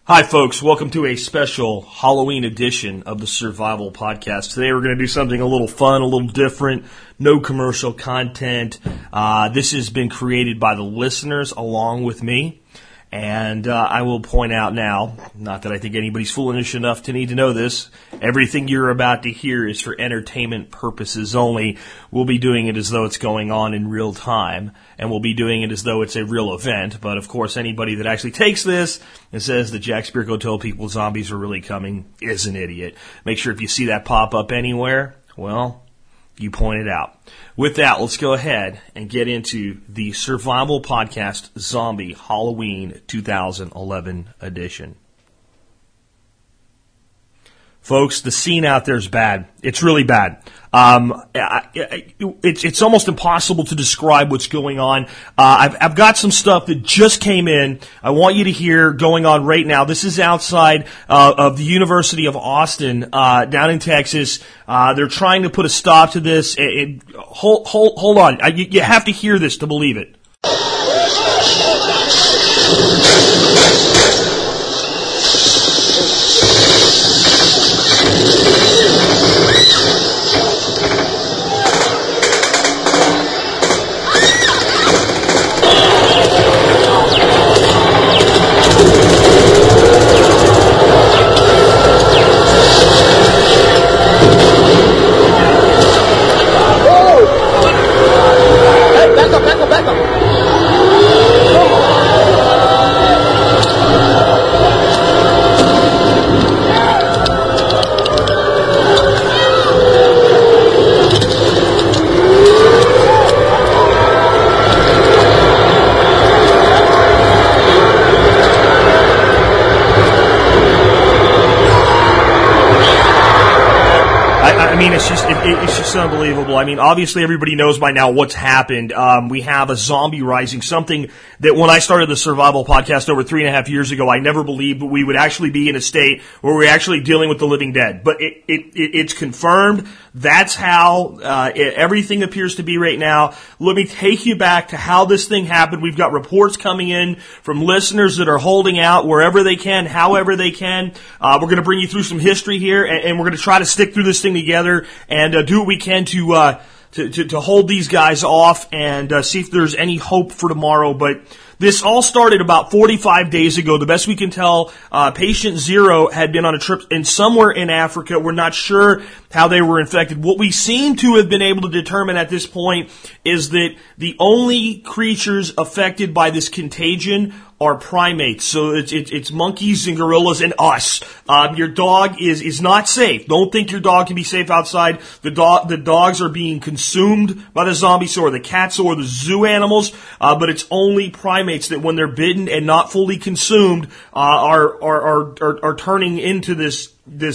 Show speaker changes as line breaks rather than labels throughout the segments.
Hi, folks. Welcome to a special Halloween edition of the Survival Podcast. Today we're going to do something a little fun, a little different, no commercial content. This has been created by the listeners along with me. And I will point out now, not that I think anybody's foolish enough to need to know this, everything you're about to hear is for entertainment purposes only. We'll be doing it as though it's going on in real time, and we'll be doing it as though it's a real event. But, of course, anybody that actually takes this and says that Jack Spirko told people zombies are really coming is an idiot. Make sure if you see that pop up anywhere, well, you point it out. With that, let's go ahead and get into the Survival Podcast Zombie Halloween 2011 edition. Folks, the scene out there is bad. It's really bad. It's almost impossible to describe what's going on. I've got some stuff that just came in. I want you to hear going on right now. This is outside of the University of Austin, down in Texas. They're trying to put a stop to this. Hold on. You have to hear this to believe it. It's just unbelievable. I mean, obviously everybody knows by now what's happened. We have a zombie rising, something that when I started the Survival Podcast over 3.5 years ago, I never believed we would actually be in a state where we're actually dealing with the living dead. But it's confirmed. That's how everything appears to be right now. Let me take you back to how this thing happened. We've got reports coming in from listeners that are holding out wherever they can, however they can. We're going to bring you through some history here, and we're going to try to stick through this thing together and do what we can to hold these guys off and see if there's any hope for tomorrow. But this all started about 45 days ago. The best we can tell, patient 0 had been on a trip somewhere in Africa. We're not sure how they were infected. What we seem to have been able to determine at this point is that the only creatures affected by this contagion are primates. So it's monkeys and gorillas and us. Your dog is not safe. Don't think your dog can be safe outside. The dogs are being consumed by the zombies, or the cats or the zoo animals. But it's only primates that, when they're bitten and not fully consumed, are turning into this.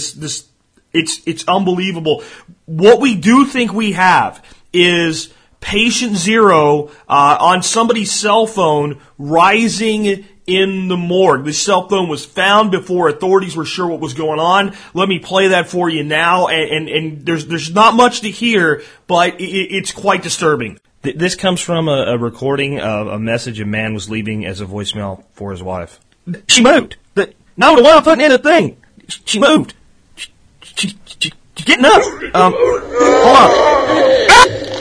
It's unbelievable. What we do think we have is patient 0 on somebody's cell phone rising in the morgue. This cell phone was found before authorities were sure what was going on. Let me play that for you now, and there's not much to hear, but it's quite disturbing. This comes from a recording of a message a man was leaving as a voicemail for his wife. She moved. No, the one I'm putting in the thing. She moved. She's getting up. Hold on.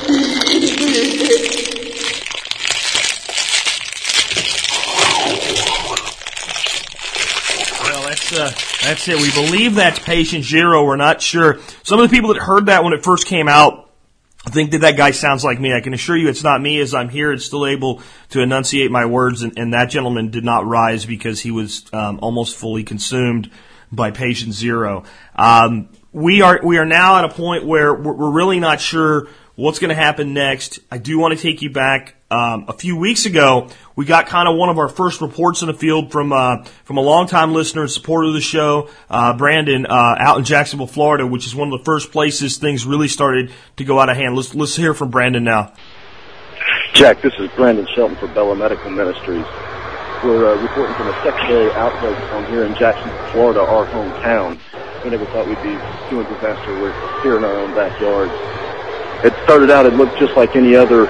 That's it. We believe that's patient 0. We're not sure. Some of the people that heard that when it first came out think that guy sounds like me. I can assure you it's not me, as I'm here and still able to enunciate my words, and that gentleman did not rise because he was almost fully consumed by patient 0. We are now at a point where we're really not sure what's going to happen next. I do want to take you back. A few weeks ago, we got kind of one of our first reports in the field from a longtime listener and supporter of the show, Brandon, out in Jacksonville, Florida, which is one of the first places things really started to go out of hand. Let's hear from Brandon now.
Jack, this is Brandon Shelton for Bella Medical Ministries. We're reporting from a secondary outbreak on here in Jacksonville, Florida, our hometown. We never thought we'd be doing disaster work here in our own backyard. It started out, it looked just like any other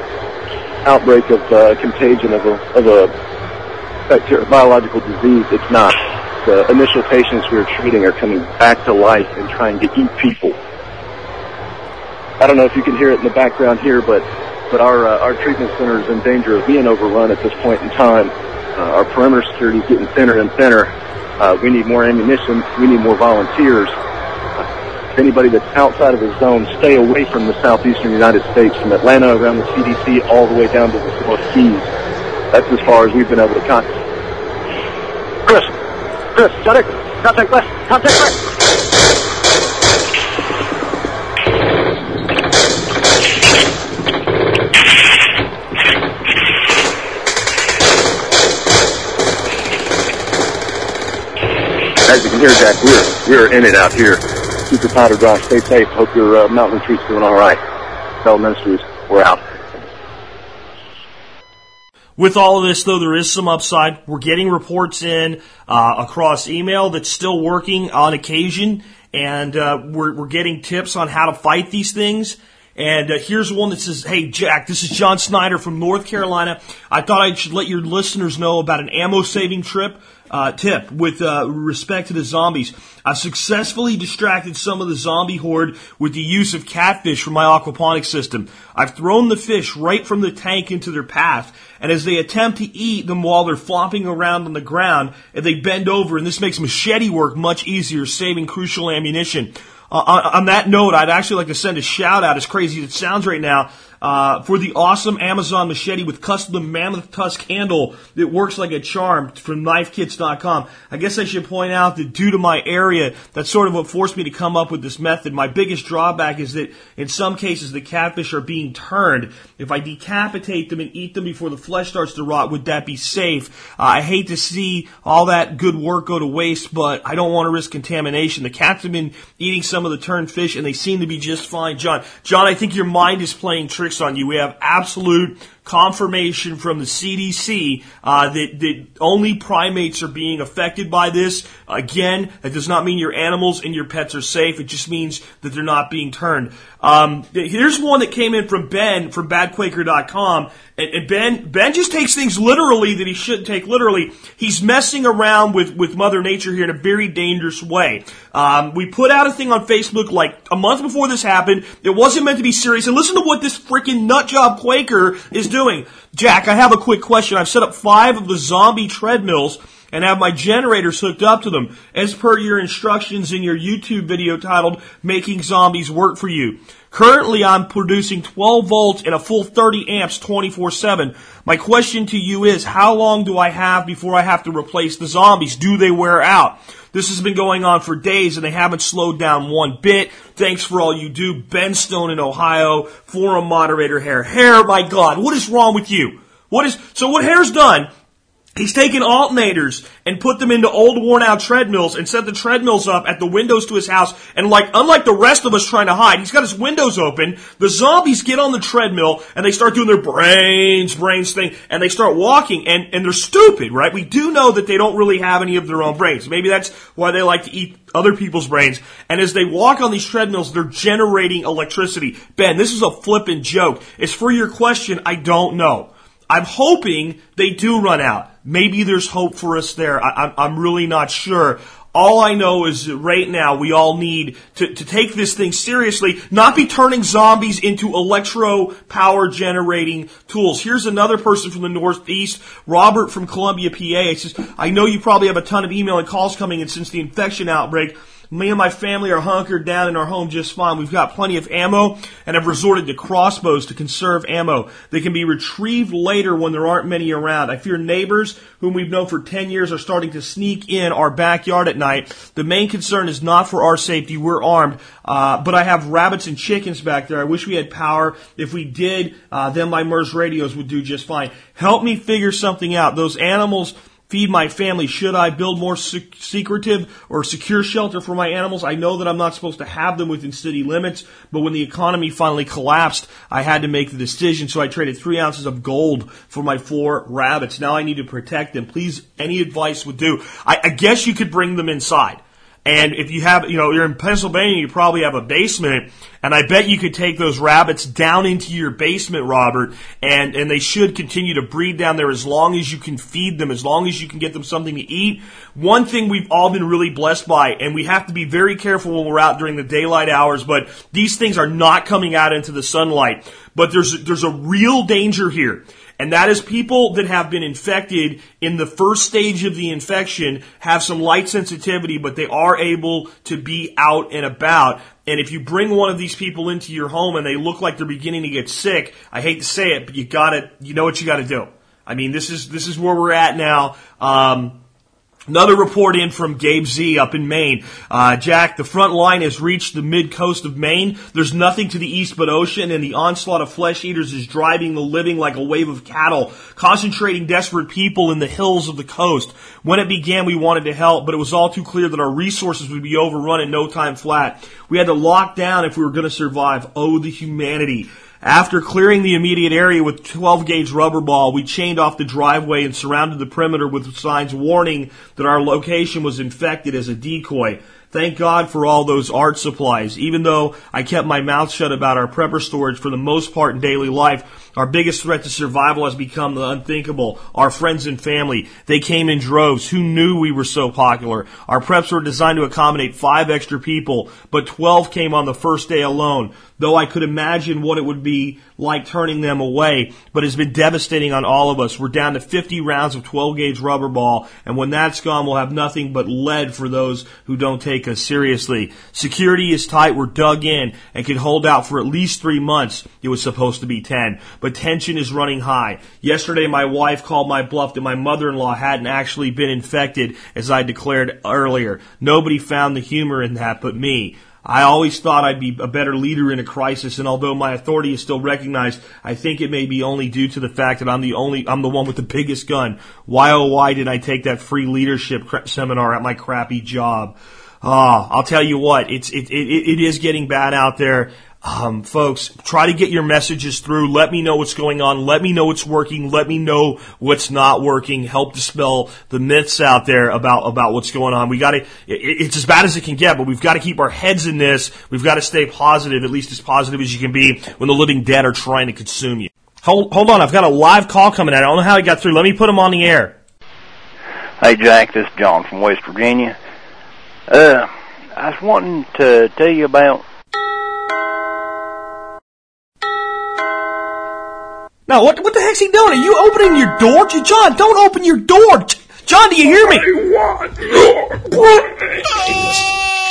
outbreak of contagion of a biological disease. It's not. initial patients we were treating are coming back to life and trying to eat people. I don't know if you can hear it in the background here, but our treatment center is in danger of being overrun at this point in time. Our perimeter security is getting thinner and thinner. We need more ammunition. We need more volunteers. Anybody that's outside of the zone, stay away from the southeastern United States, from Atlanta around the CDC all the way down to the North Keys. That's as far as we've been able to contact. Chris, shut it. Contact west. As you can hear, Jack, we're in it out here. Keep your powder dry. Stay safe. Hope your mountain retreat's doing all right. Bell Ministries, we're out.
With all of this, though, there is some upside. We're getting reports in across email that's still working on occasion, and we're getting tips on how to fight these things. And here's one that says, "Hey, Jack, this is John Snyder from North Carolina. I thought I should let your listeners know about an ammo-saving tip with respect to the zombies. I've successfully distracted some of the zombie horde with the use of catfish from my aquaponics system. I've thrown the fish right from the tank into their path, and as they attempt to eat them while they're flopping around on the ground, they bend over, and this makes machete work much easier, saving crucial ammunition." On that note, I'd actually like to send a shout out, as crazy as it sounds right now, for the awesome Amazon machete with custom mammoth tusk handle that works like a charm from knifekits.com. I guess I should point out that due to my area, that's sort of what forced me to come up with this method. My biggest drawback is that in some cases the catfish are being turned. If I decapitate them and eat them before the flesh starts to rot, would that be safe? I hate to see all that good work go to waste, but I don't want to risk contamination. The cats have been eating some of the turned fish, and they seem to be just fine. John, I think your mind is playing tricks on you. We have absolute confirmation from the CDC that only primates are being affected by this. Again, that does not mean your animals and your pets are safe. It just means that they're not being turned. Here's one that came in from Ben from badquaker.com. And Ben just takes things literally that he shouldn't take literally. He's messing around with Mother Nature here in a very dangerous way. We put out a thing on Facebook like a month before this happened. It wasn't meant to be serious. And listen to what this freaking nutjob Quaker is doing. Jack, I have a quick question. I've set up 5 of the zombie treadmills and have my generators hooked up to them, as per your instructions in your YouTube video titled Making Zombies Work for You. Currently, I'm producing 12 volts and a full 30 amps 24/7. My question to you is, how long do I have before I have to replace the zombies? Do they wear out? This has been going on for days, and they haven't slowed down one bit. Thanks for all you do. Ben Stone in Ohio, forum moderator Hare. Hare, my God, what is wrong with you? So what Hare's done, he's taken alternators and put them into old worn-out treadmills and set the treadmills up at the windows to his house. And unlike the rest of us trying to hide, he's got his windows open. The zombies get on the treadmill and they start doing their brains thing, and they start walking, and they're stupid, right? We do know that they don't really have any of their own brains. Maybe that's why they like to eat other people's brains. And as they walk on these treadmills, they're generating electricity. Ben, this is a flippin' joke. As for your question, I don't know. I'm hoping they do run out. Maybe there's hope for us there. I'm really not sure. All I know is that right now we all need to take this thing seriously, not be turning zombies into electro-power generating tools. Here's another person from the Northeast, Robert from Columbia, PA. He says, I know you probably have a ton of email and calls coming in since the infection outbreak. Me and my family are hunkered down in our home just fine. We've got plenty of ammo and have resorted to crossbows to conserve ammo. They can be retrieved later when there aren't many around. I fear neighbors whom we've known for 10 years are starting to sneak in our backyard at night. The main concern is not for our safety. We're armed. But I have rabbits and chickens back there. I wish we had power. If we did, then my MERS radios would do just fine. Help me figure something out. Those animals feed my family. Should I build more secretive or secure shelter for my animals? I know that I'm not supposed to have them within city limits, but when the economy finally collapsed, I had to make the decision, so I traded 3 ounces of gold for my 4 rabbits. Now I need to protect them. Please, any advice would do. I guess you could bring them inside And if you have, you're in Pennsylvania, you probably have a basement, and I bet you could take those rabbits down into your basement, Robert, and they should continue to breed down there as long as you can feed them, as long as you can get them something to eat. One thing we've all been really blessed by, and we have to be very careful when we're out during the daylight hours, but these things are not coming out into the sunlight. But there's a real danger here. And that is people that have been infected in the first stage of the infection have some light sensitivity, but they are able to be out and about. And if you bring one of these people into your home and they look like they're beginning to get sick, I hate to say it, but you know what you gotta do. I mean, this is where we're at now. Another report in from Gabe Z up in Maine. Jack, the front line has reached the mid-coast of Maine. There's nothing to the east but ocean, and the onslaught of flesh eaters is driving the living like a wave of cattle, concentrating desperate people in the hills of the coast. When it began, we wanted to help, but it was all too clear that our resources would be overrun in no time flat. We had to lock down if we were going to survive. Oh, the humanity. After clearing the immediate area with 12-gauge rubber ball, we chained off the driveway and surrounded the perimeter with signs warning that our location was infected as a decoy. Thank God for all those art supplies. Even though I kept my mouth shut about our prepper storage for the most part in daily life, our biggest threat to survival has become the unthinkable. Our friends and family. They came in droves. Who knew we were so popular? Our preps were designed to accommodate 5 extra people, but 12 came on the first day alone. Though I could imagine what it would be like turning them away, but it's been devastating on all of us. We're down to 50 rounds of 12-gauge rubber ball, and when that's gone, we'll have nothing but lead for those who don't take us seriously. Security is tight. We're dug in and can hold out for at least 3 months. It was supposed to be 10, but tension is running high. Yesterday, my wife called my bluff that my mother-in-law hadn't actually been infected, as I declared earlier. Nobody found the humor in that but me. I always thought I'd be a better leader in a crisis, and although my authority is still recognized, I think it may be only due to the fact that I'm the one with the biggest gun. Why, oh, why did I take that free leadership seminar at my crappy job? I'll tell you what, it is getting bad out there. Folks, try to get your messages through. Let me know what's going on. Let me know what's working. Let me know what's not working. Help dispel the myths out there about what's going on. It's as bad as it can get, but we've got to keep our heads in this. We've got to stay positive, at least as positive as you can be when the living dead are trying to consume you. Hold on, I've got a live call coming in. I don't know how he got through. Let me put him on the air.
Hey, Jack, this is John from West Virginia. I was wanting to tell you about...
Now, what the heck's he doing? Are you opening your door? John, don't open your door! John, do you hear me?
I want your brains.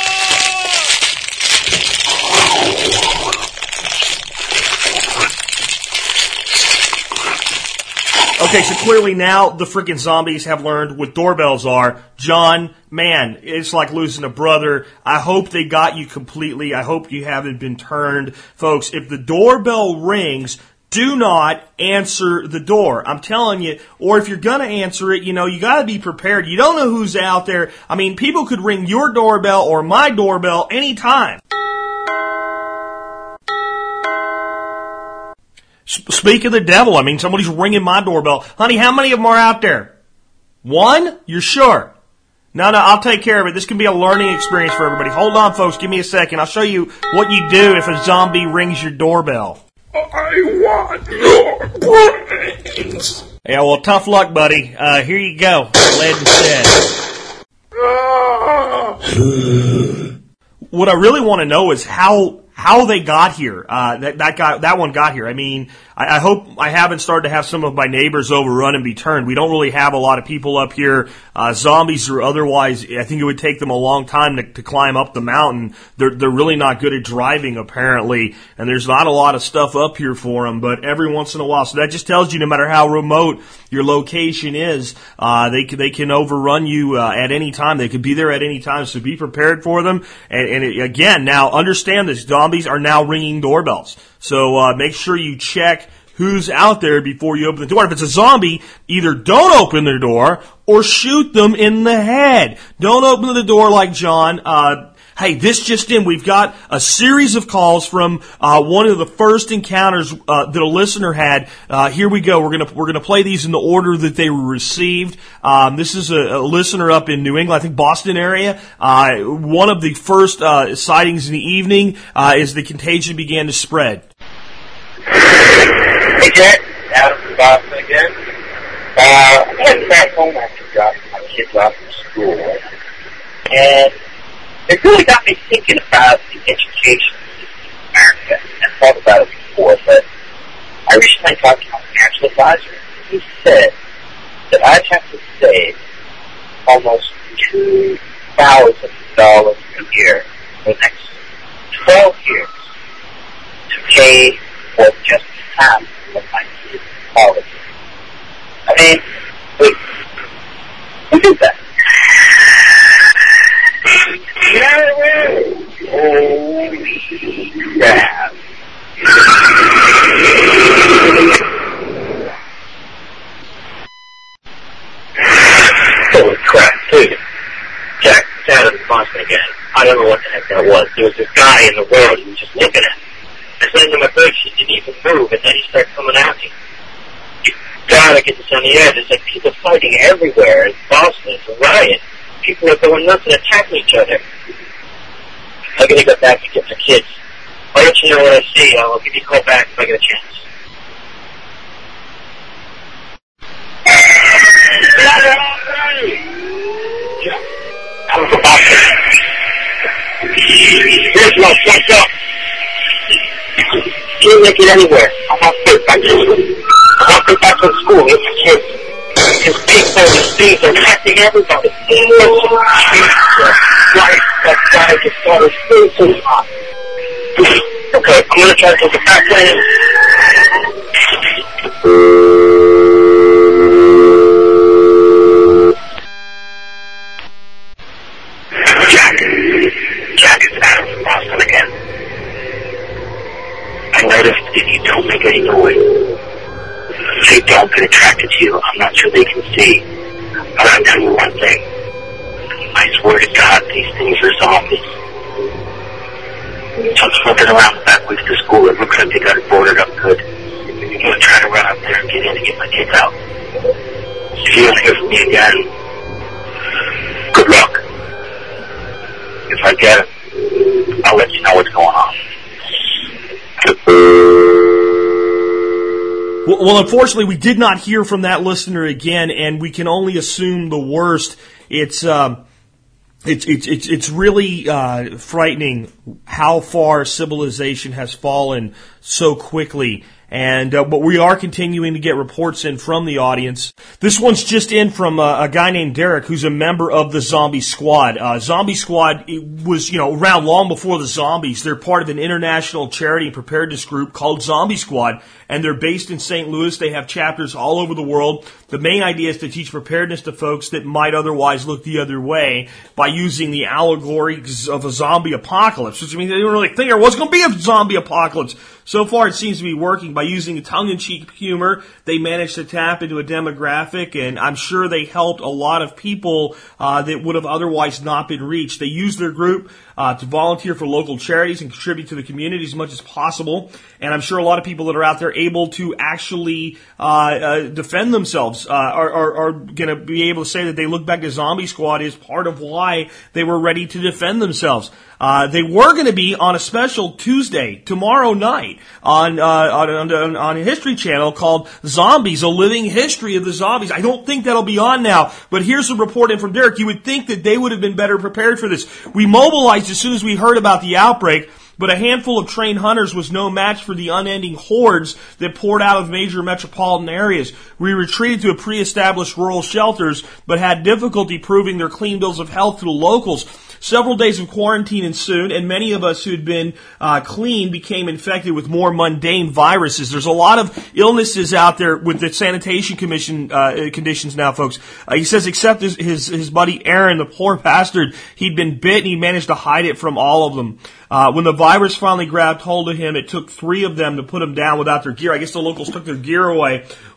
Okay, so clearly now the freaking zombies have learned what doorbells are. John, man, it's like losing a brother. I hope they got you completely. I hope you haven't been turned. Folks, if the doorbell rings, do not answer the door. I'm telling you, or if you're gonna answer it, you gotta be prepared. You don't know who's out there. I mean, people could ring your doorbell or my doorbell anytime. Speak of the devil, I mean, somebody's ringing my doorbell. Honey, how many of them are out there? 1? You're sure? No, I'll take care of it. This can be a learning experience for everybody. Hold on, folks. Give me a second. I'll show you what you do if a zombie rings your doorbell.
I want your brains.
Yeah, well, tough luck, buddy. Here you go. Lead and said. What I really want to know is how they got here. That one got here. I mean, I hope I haven't started to have some of my neighbors overrun and be turned. We don't really have a lot of people up here, zombies or otherwise. I think it would take them a long time to climb up the mountain. They're really not good at driving, apparently, and there's not a lot of stuff up here for them, but every once in a while. So that just tells you no matter how remote your location is, they can overrun you at any time. They could be there at any time, so be prepared for them. And again, now understand this. Zombies are now ringing doorbells. So make sure you check who's out there before you open the door. If it's a zombie, either don't open the door or shoot them in the head. Don't open the door like John. Hey, this just in, we've got a series of calls from one of the first encounters that a listener had. Here we go. We're gonna play these in the order that they were received. This is a listener up in New England, I think Boston area. One of the first sightings in the evening as the contagion began to spread.
Hey, Jack. Adam from Boston again. I went back home after dropping my kids off from school, and it really got me thinking about the education system in America. I've thought about it before, but I recently talked to my financial advisor. He said that I'd have to save almost $2,000 a year for the next 12 years to pay for just half of my kids' college. I mean, who did that? Holy crap. Holy crap, dude. Jack, it's Adam in Boston again. I don't know what the heck that was. There was this guy in the road who was just looking at me. I said to my brakes, he didn't even move, and then he started coming at me. You gotta get this on the air. There's like people fighting everywhere in Boston. It's a riot. People are going nuts and attacking each other. I'm gonna go back and get my kids. I'll let you know what I see. I'll give you a call back if I get a chance. I'm from Boston. Here's my fucked up. Can't make it anywhere. I want to get back to school. I want to get back to school with my kids. Because people, these things are affecting everybody. That guy just started so hot. Okay, I'm going to try to take it back later. Jack is Adam from Boston again. I noticed if you don't make any noise, they don't get attracted to you. I'm not sure they can see. But I'll tell you one thing. I swear to God, these things are zombies. So I'm looking around the back way to the school. It looks like they got it boarded up good. I'm going to try to run up there and get in to get my kids out. If you don't hear from me again, good luck. If I get it, I'll let you know what's going on.
Well, unfortunately, we did not hear from that listener again, and we can only assume the worst. It's really frightening how far civilization has fallen so quickly. And but we are continuing to get reports in from the audience. This one's just in from a guy named Derek, who's a member of the Zombie Squad. Zombie Squad was, around long before the zombies. They're part of an international charity and preparedness group called Zombie Squad, and they're based in St. Louis. They have chapters all over the world. The main idea is to teach preparedness to folks that might otherwise look the other way by using the allegories of a zombie apocalypse. Which, they didn't really think there was going to be a zombie apocalypse. So far, it seems to be working. By using a tongue-in-cheek humor, they managed to tap into a demographic, and I'm sure they helped a lot of people that would have otherwise not been reached. They used their group to volunteer for local charities and contribute to the community as much as possible. And I'm sure a lot of people that are out there able to actually defend themselves are going to be able to say that they look back at Zombie Squad as part of why they were ready to defend themselves. They were going to be on a special Tuesday, tomorrow night, on a History Channel called Zombies, A Living History of the Zombies. I don't think that'll be on now, but here's a report in from Derek. You would think that they would have been better prepared for this. We mobilized as soon as we heard about the outbreak, but a handful of trained hunters was no match for the unending hordes that poured out of major metropolitan areas. We retreated to pre-established rural shelters, but had difficulty proving their clean bills of health to the locals. Several days of quarantine ensued, and many of us who'd been clean became infected with more mundane viruses. There's a lot of illnesses out there with the Sanitation Commission conditions now, folks. He says except his buddy Aaron, the poor bastard, he'd been bit and he managed to hide it from all of them. When the virus finally grabbed hold of him, it took 3 of them to put him down without their gear. I guess the locals took their gear away.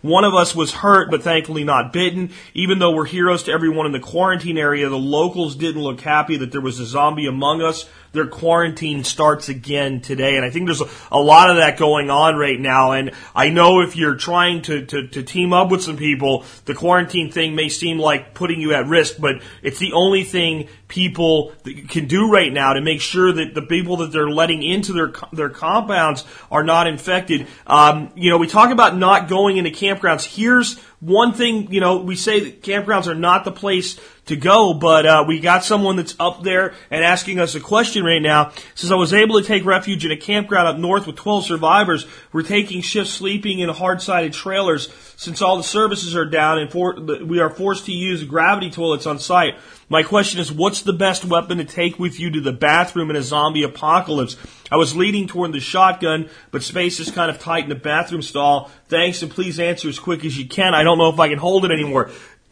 One of us was hurt, but thankfully not bitten. Even though we're heroes to everyone in the quarantine area, the locals didn't look happy that there was a zombie among us. Their quarantine starts again today, and I think there's a lot of that going on right now. And I know if you're trying to team up with some people, the quarantine thing may seem like putting you at risk, but it's the only thing people can do right now to make sure that the people that they're letting into their compounds are not infected. We talk about not going into campgrounds. Here's one thing, we say that campgrounds are not the place to go, but we got someone that's up there and asking us a question right now. It says, I was able to take refuge in a campground up north with 12 survivors. We're taking shifts sleeping in hard-sided trailers since all the services are down and we are forced to use gravity toilets on site. My question is, what's the best weapon to take with you to the bathroom in a zombie apocalypse? I was leaning toward the shotgun, but space is kind of tight in the bathroom stall. Thanks, and please answer as quick as you can. I don't know if I can hold it anymore.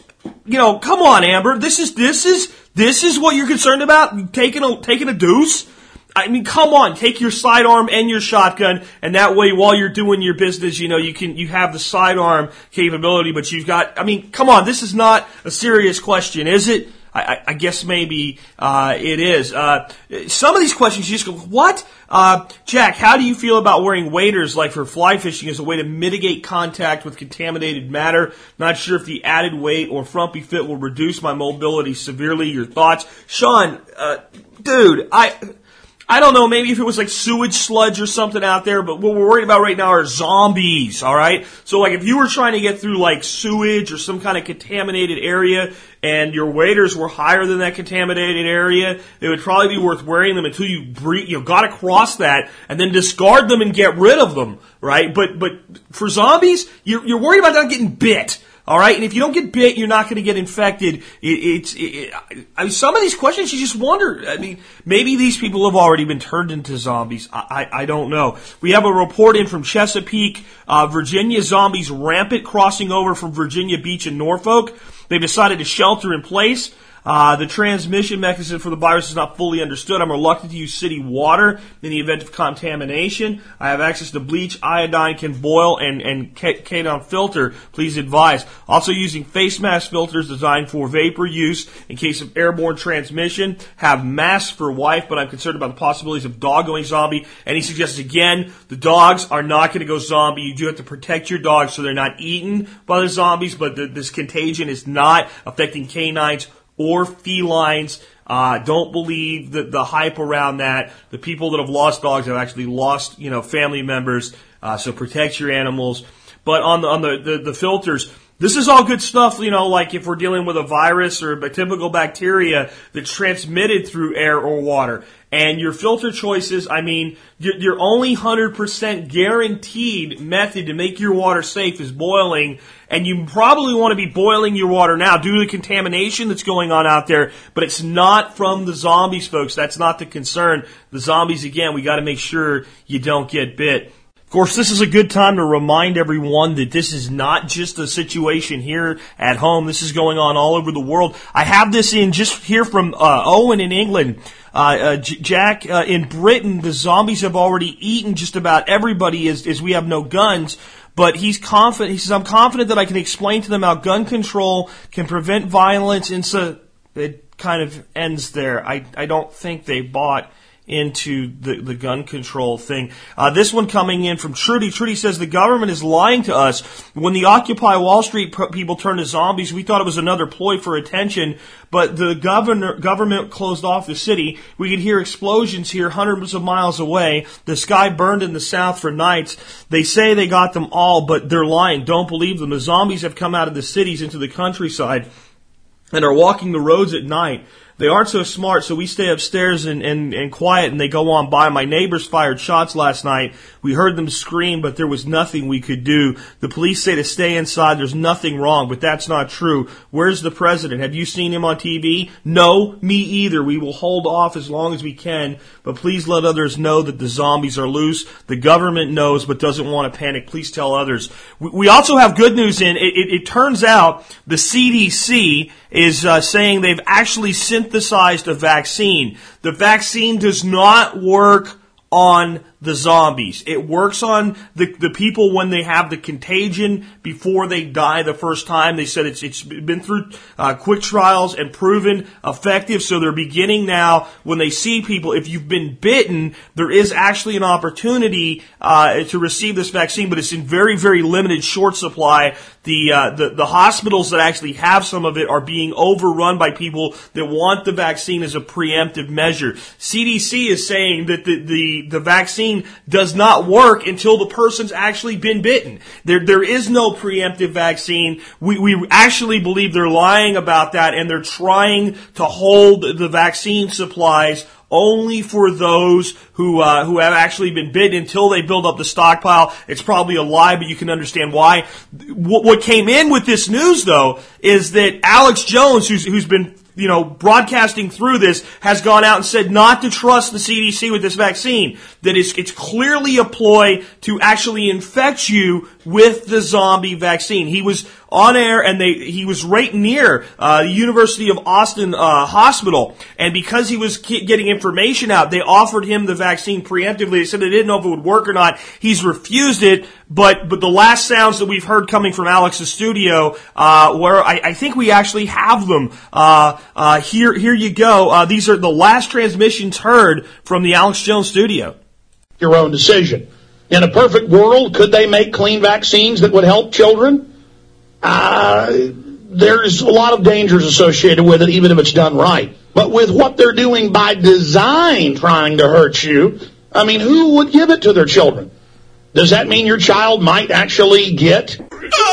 Come on, Amber. This is what you're concerned about? Taking a deuce? I mean, come on. Take your sidearm and your shotgun, and that way, while you're doing your business, you have the sidearm capability. But come on. This is not a serious question, is it? I guess maybe it is. Some of these questions you just go, what? Jack, how do you feel about wearing waders like for fly fishing as a way to mitigate contact with contaminated matter? Not sure if the added weight or frumpy fit will reduce my mobility severely. Your thoughts? Sean, dude, I don't know, maybe if it was like sewage sludge or something out there, but what we're worried about right now are zombies, alright? So like if you were trying to get through like sewage or some kind of contaminated area and your waders were higher than that contaminated area, it would probably be worth wearing them until you got across that and then discard them and get rid of them, right? But for zombies, you're worried about not getting bit. All right, and if you don't get bit, you're not going to get infected. Some of these questions, you just wonder. I mean, maybe these people have already been turned into zombies. I don't know. We have a report in from Chesapeake, Virginia. Zombies rampant crossing over from Virginia Beach and Norfolk. They've decided to shelter in place. The transmission mechanism for the virus is not fully understood. I'm reluctant to use city water in the event of contamination. I have access to bleach, iodine, can boil, and Kadon filter. Please advise. Also using face mask filters designed for vapor use in case of airborne transmission. Have masks for wife, but I'm concerned about the possibilities of dog going zombie. And he suggests again, the dogs are not going to go zombie. You do have to protect your dogs so they're not eaten by the zombies, but this contagion is not affecting canines or felines. Don't believe the hype around that. The people that have lost dogs have actually lost, family members. So protect your animals. But on the filters, this is all good stuff, like if we're dealing with a virus or a typical bacteria that's transmitted through air or water. And your filter choices, your only 100% guaranteed method to make your water safe is boiling. And you probably want to be boiling your water now due to the contamination that's going on out there. But it's not from the zombies, folks. That's not the concern. The zombies, again, we got to make sure you don't get bit. Of course, this is a good time to remind everyone that this is not just a situation here at home. This is going on all over the world. I have this in just here from Owen in England. Jack, in Britain, the zombies have already eaten just about everybody as we have no guns. But he's confident. He says, I'm confident that I can explain to them how gun control can prevent violence. And so it kind of ends there. I don't think they bought into the gun control thing. This one coming in from Trudy. Trudy says the government is lying to us. When the Occupy Wall Street people turned to zombies, we thought it was another ploy for attention, but the government closed off the city. We could hear explosions here hundreds of miles away. The sky burned in the south for nights. They say they got them all, but they're lying. Don't believe them. The zombies have come out of the cities into the countryside and are walking the roads at night. They aren't so smart, so we stay upstairs and quiet, and they go on by. My neighbors fired shots last night. We heard them scream, but there was nothing we could do. The police say to stay inside. There's nothing wrong, but that's not true. Where's the president? Have you seen him on TV? No, me either. We will hold off as long as we can, but please let others know that the zombies are loose. The government knows, but doesn't want to panic. Please tell others. We also have good news in. It turns out the CDC is saying they've actually synthesized a vaccine. The vaccine does not work on the zombies. It works on the people when they have the contagion before they die the first time. They said it's been through quick trials and proven effective. So they're beginning now when they see people. If you've been bitten, there is actually an opportunity to receive this vaccine, but it's in very, very limited short supply. The hospitals that actually have some of it are being overrun by people that want the vaccine as a preemptive measure. CDC is saying that the vaccine does not work until the person's actually been bitten. There is no preemptive vaccine. We actually believe they're lying about that, and they're trying to hold the vaccine supplies only for those who have actually been bitten until they build up the stockpile. It's probably a lie, but you can understand why. What came in with this news, though, is that Alex Jones, who's been broadcasting through this, has gone out and said not to trust the CDC with this vaccine, that it's clearly a ploy to actually infect you with the zombie vaccine. He was on air, and he was right near the University of Austin hospital, and because he was getting information out, they offered him the vaccine preemptively. They said they didn't know if it would work or not. He's refused it, but the last sounds that we've heard coming from Alex's studio, where I think we actually have them. Here you go. These are the last transmissions heard from the Alex Jones studio.
Your own decision. In a perfect world, could they make clean vaccines that would help children? There's a lot of dangers associated with it, even if it's done right. But with what they're doing by design, trying to hurt you, I mean, who would give it to their children? Does that mean your child might actually get...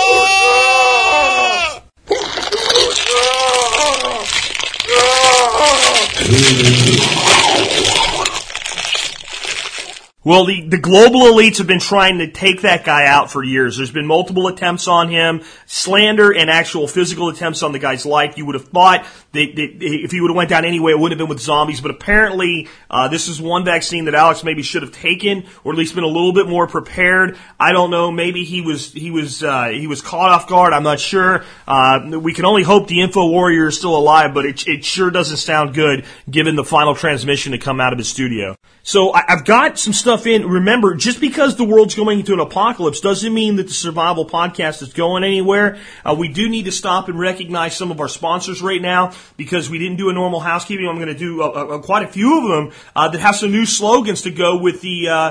Well, the global elites have been trying to take that guy out for years. There's been multiple attempts on him, slander and actual physical attempts on the guy's life. You would have thought that if he would have went down anyway, it wouldn't have been with zombies. But apparently, this is one vaccine that Alex maybe should have taken, or at least been a little bit more prepared. I don't know. Maybe he was caught off guard. I'm not sure. We can only hope the Info Warrior is still alive, but it sure doesn't sound good given the final transmission to come out of his studio. So I've got some stuff in. Remember, just because the world's going into an apocalypse doesn't mean that the Survival Podcast is going anywhere. We do need to stop and recognize some of our sponsors right now, because we didn't do a normal housekeeping. I'm going to do quite a few of them that have some new slogans to go with the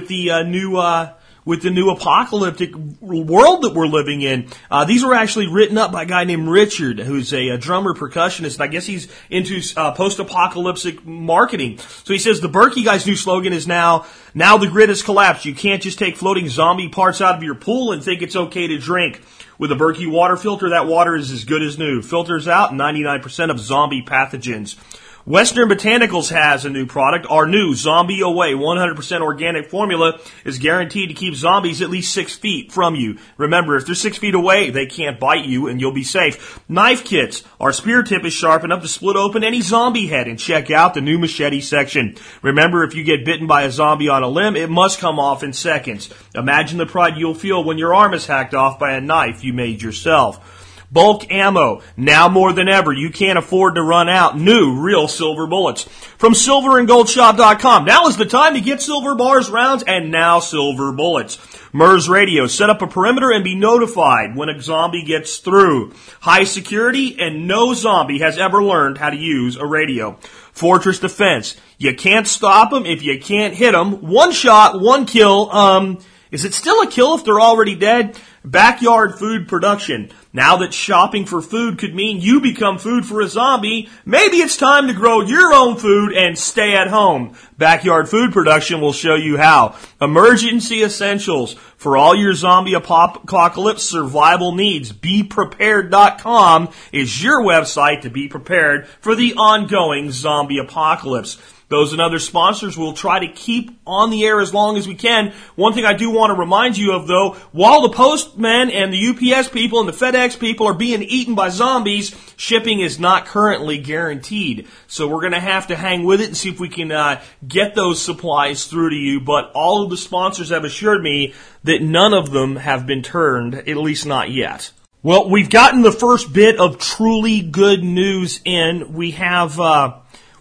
new apocalyptic world that we're living in. These were actually written up by a guy named Richard, who's a drummer percussionist, and I guess he's into post-apocalyptic marketing. So he says the Berkey guy's new slogan is now the grid has collapsed. You can't just take floating zombie parts out of your pool and think it's okay to drink. With a Berkey water filter, that water is as good as new. Filters out 99% of zombie pathogens. Western Botanicals has a new product. Our new Zombie Away 100% organic formula is guaranteed to keep zombies at least 6 feet from you. Remember, if they're 6 feet away, they can't bite you and you'll be safe. Knife kits. Our spear tip is sharp enough to split open any zombie head, and check out the new machete section. Remember, if you get bitten by a zombie on a limb, it must come off in seconds. Imagine the pride you'll feel when your arm is hacked off by a knife you made yourself. Bulk ammo. Now more than ever, you can't afford to run out. New, real silver bullets. From silverandgoldshop.com. Now is the time to get silver bars, rounds, and now silver bullets. MERS Radio. Set up a perimeter and be notified when a zombie gets through. High security, and no zombie has ever learned how to use a radio. Fortress Defense. You can't stop them if you can't hit them. One shot, one kill. Is it still a kill if they're already dead? Backyard food production. Now that shopping for food could mean you become food for a zombie, maybe it's time to grow your own food and stay at home. Backyard food production will show you how. Emergency essentials for all your zombie apocalypse survival needs. BePrepared.com is your website to be prepared for the ongoing zombie apocalypse. Those and other sponsors will try to keep on the air as long as we can. One thing I do want to remind you of, though, while the postmen and the UPS people and the FedEx people are being eaten by zombies, shipping is not currently guaranteed. So we're going to have to hang with it and see if we can get those supplies through to you. But all of the sponsors have assured me that none of them have been turned, at least not yet. Well, we've gotten the first bit of truly good news in. We have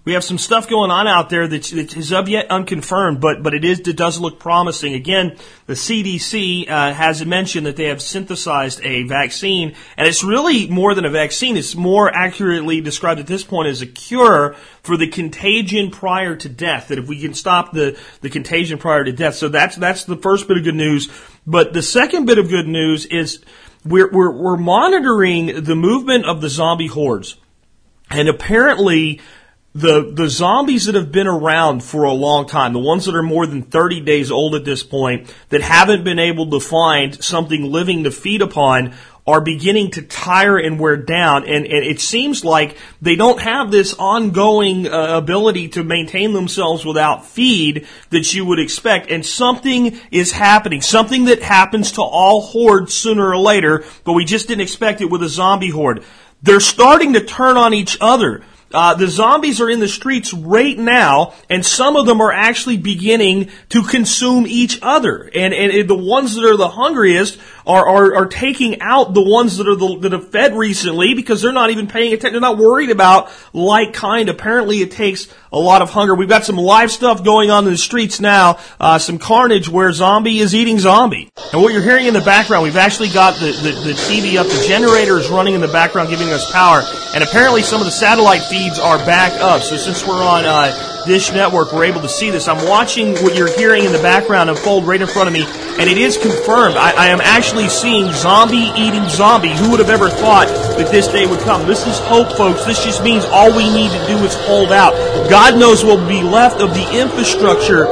we have some stuff going on out there that is of yet unconfirmed, but it does look promising. Again, the CDC has mentioned that they have synthesized a vaccine, and it's really more than a vaccine. It's more accurately described at this point as a cure for the contagion prior to death. That if we can stop the contagion prior to death, so that's the first bit of good news. But the second bit of good news is we're monitoring the movement of the zombie hordes, and apparently the zombies that have been around for a long time, the ones that are more than 30 days old at this point, that haven't been able to find something living to feed upon, are beginning to tire and wear down, and it seems like they don't have this ongoing ability to maintain themselves without feed that you would expect, and something is happening, something that happens to all hordes sooner or later, but we just didn't expect it with a zombie horde. They're starting to turn on each other. The zombies are in the streets right now, and some of them are actually beginning to consume each other. And the ones that are the hungriest are taking out the ones that have fed recently, because they're not even paying attention. They're not worried about like kind. Apparently, it takes a lot of hunger. We've got some live stuff going on in the streets now, some carnage where zombie is eating zombie. And what you're hearing in the background, we've actually got the TV up. The generator is running in the background, giving us power. And apparently some of the satellite feeds are back up. So since we're on Dish Network, we're able to see this. I'm watching what you're hearing in the background unfold right in front of me, and it is confirmed. I am actually seeing zombie eating zombie. Who would have ever thought that this day would come? This is hope, folks. This just means all we need to do is hold out. God knows what will be left of the infrastructure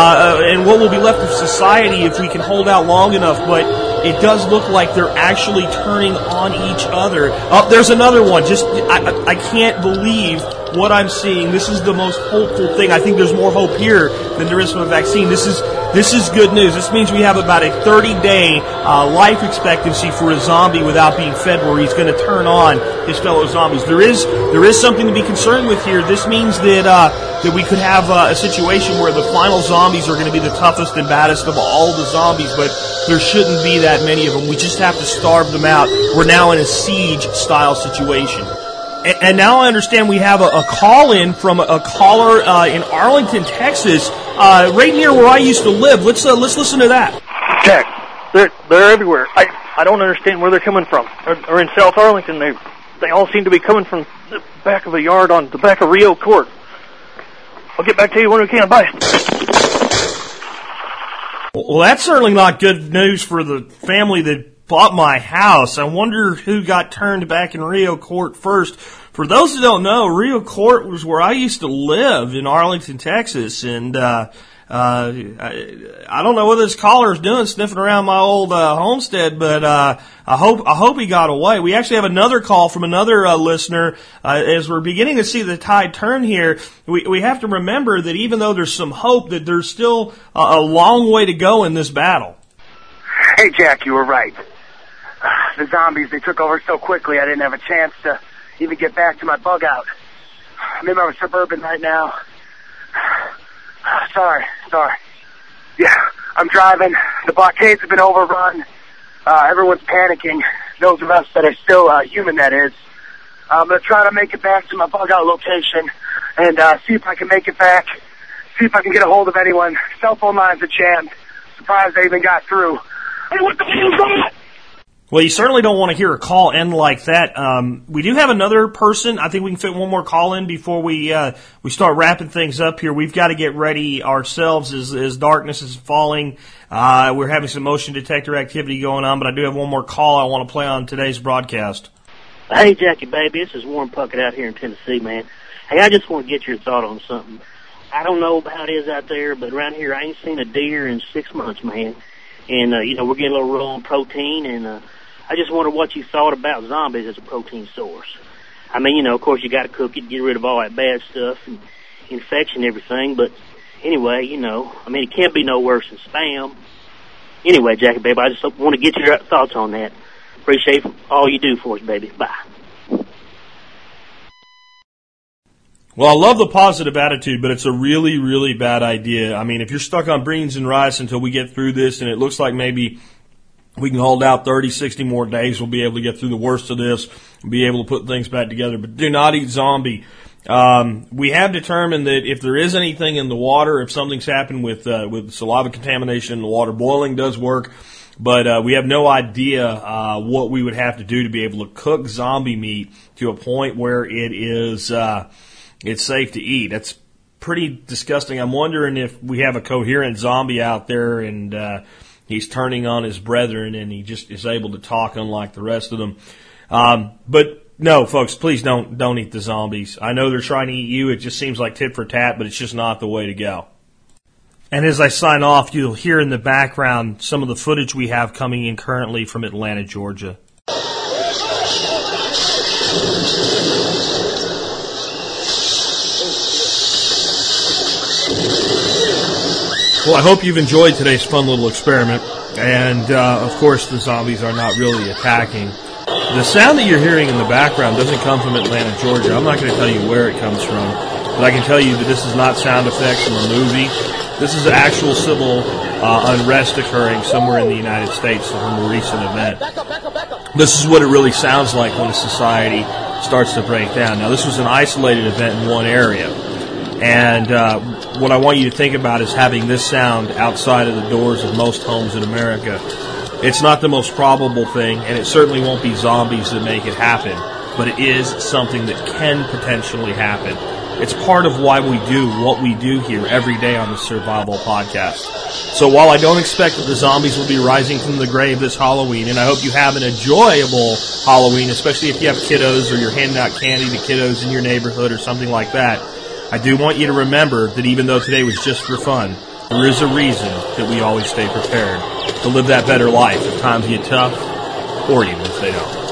and what will be left of society if we can hold out long enough, but it does look like they're actually turning on each other. Oh, there's another one. I can't believe what I'm seeing. This is the most hopeful thing. I think there's more hope here than there is from a vaccine. This is good news. This means we have about a 30-day life expectancy for a zombie without being fed, where he's going to turn on his fellow zombies. There is something to be concerned with here. This means that we could have a situation where the final zombies are going to be the toughest and baddest of all the zombies, but there shouldn't be that many of them. We just have to starve them out. We're now in a siege-style situation. And now I understand we have a call-in from a caller in Arlington, Texas, right near where I used to live. Let's listen to that.
Jack, they're everywhere. I don't understand where they're coming from. Or in South Arlington, they all seem to be coming from the back of a yard on the back of Rio Court. I'll get back to you when we can. Bye.
Well, that's certainly not good news for the family that bought my house. I wonder who got turned back in Rio Court first. For those who don't know, Rio Court was where I used to live in Arlington, Texas, and I don't know what this caller is doing, sniffing around my old homestead, but I hope he got away. We actually have another call from another listener. As we're beginning to see the tide turn here, we have to remember that even though there's some hope, that there's still a long way to go in this battle.
Hey, Jack, you were right. The zombies, they took over so quickly I didn't have a chance to even get back to my bug out. I'm in my Suburban right now. Sorry. Yeah, I'm driving. The blockades have been overrun. Everyone's panicking. Those of us that are still human, that is. I'm going to try to make it back to my bug out location and see if I can make it back. See if I can get a hold of anyone. Cell phone lines are jammed. Surprised they even got through. Hey, what the hell's that?
Well, you certainly don't want to hear a call end like that. We do have another person. I think we can fit one more call in before we start wrapping things up here. We've got to get ready ourselves as darkness is falling. We're having some motion detector activity going on, but I do have one more call I want to play on today's broadcast.
Hey, Jackie, baby, this is Warren Puckett out here in Tennessee, man. Hey, I just want to get your thought on something. I don't know how it is out there, but around here I ain't seen a deer in 6 months, man. And, we're getting a little low on protein, and I just wonder what you thought about zombies as a protein source. I mean, of course you got to cook it, get rid of all that bad stuff and infection and everything. But anyway, it can't be no worse than spam. Anyway, Jackie, baby, I just want to get your thoughts on that. Appreciate all you do for us, baby. Bye.
Well, I love the positive attitude, but it's a really, really bad idea. I mean, if you're stuck on beans and rice until we get through this, and it looks like maybe we can hold out 30, 60 more days, we'll be able to get through the worst of this and be able to put things back together. But do not eat zombie. We have determined that if there is anything in the water, if something's happened with saliva contamination, the water boiling does work. But we have no idea what we would have to do to be able to cook zombie meat to a point where it is it's safe to eat. That's pretty disgusting. I'm wondering if we have a coherent zombie out there and he's turning on his brethren and he just is able to talk unlike the rest of them. But no, folks, please don't eat the zombies. I know they're trying to eat you. It just seems like tit for tat, but it's just not the way to go. And as I sign off, you'll hear in the background some of the footage we have coming in currently from Atlanta, Georgia. Well, I hope you've enjoyed today's fun little experiment. And, of course, the zombies are not really attacking. The sound that you're hearing in the background doesn't come from Atlanta, Georgia. I'm not going to tell you where it comes from, but I can tell you that this is not sound effects from a movie. This is actual civil unrest occurring somewhere in the United States from a recent event. This is what it really sounds like when a society starts to break down. Now, this was an isolated event in one area, and what I want you to think about is having this sound outside of the doors of most homes in America. It's not the most probable thing, and it certainly won't be zombies that make it happen, but it is something that can potentially happen. It's part of why we do what we do here every day on the Survival Podcast. So while I don't expect that the zombies will be rising from the grave this Halloween, and I hope you have an enjoyable Halloween, especially if you have kiddos or you're handing out candy to kiddos in your neighborhood or something like that, I do want you to remember that even though today was just for fun, there is a reason that we always stay prepared to live that better life if times get tough or even if they don't.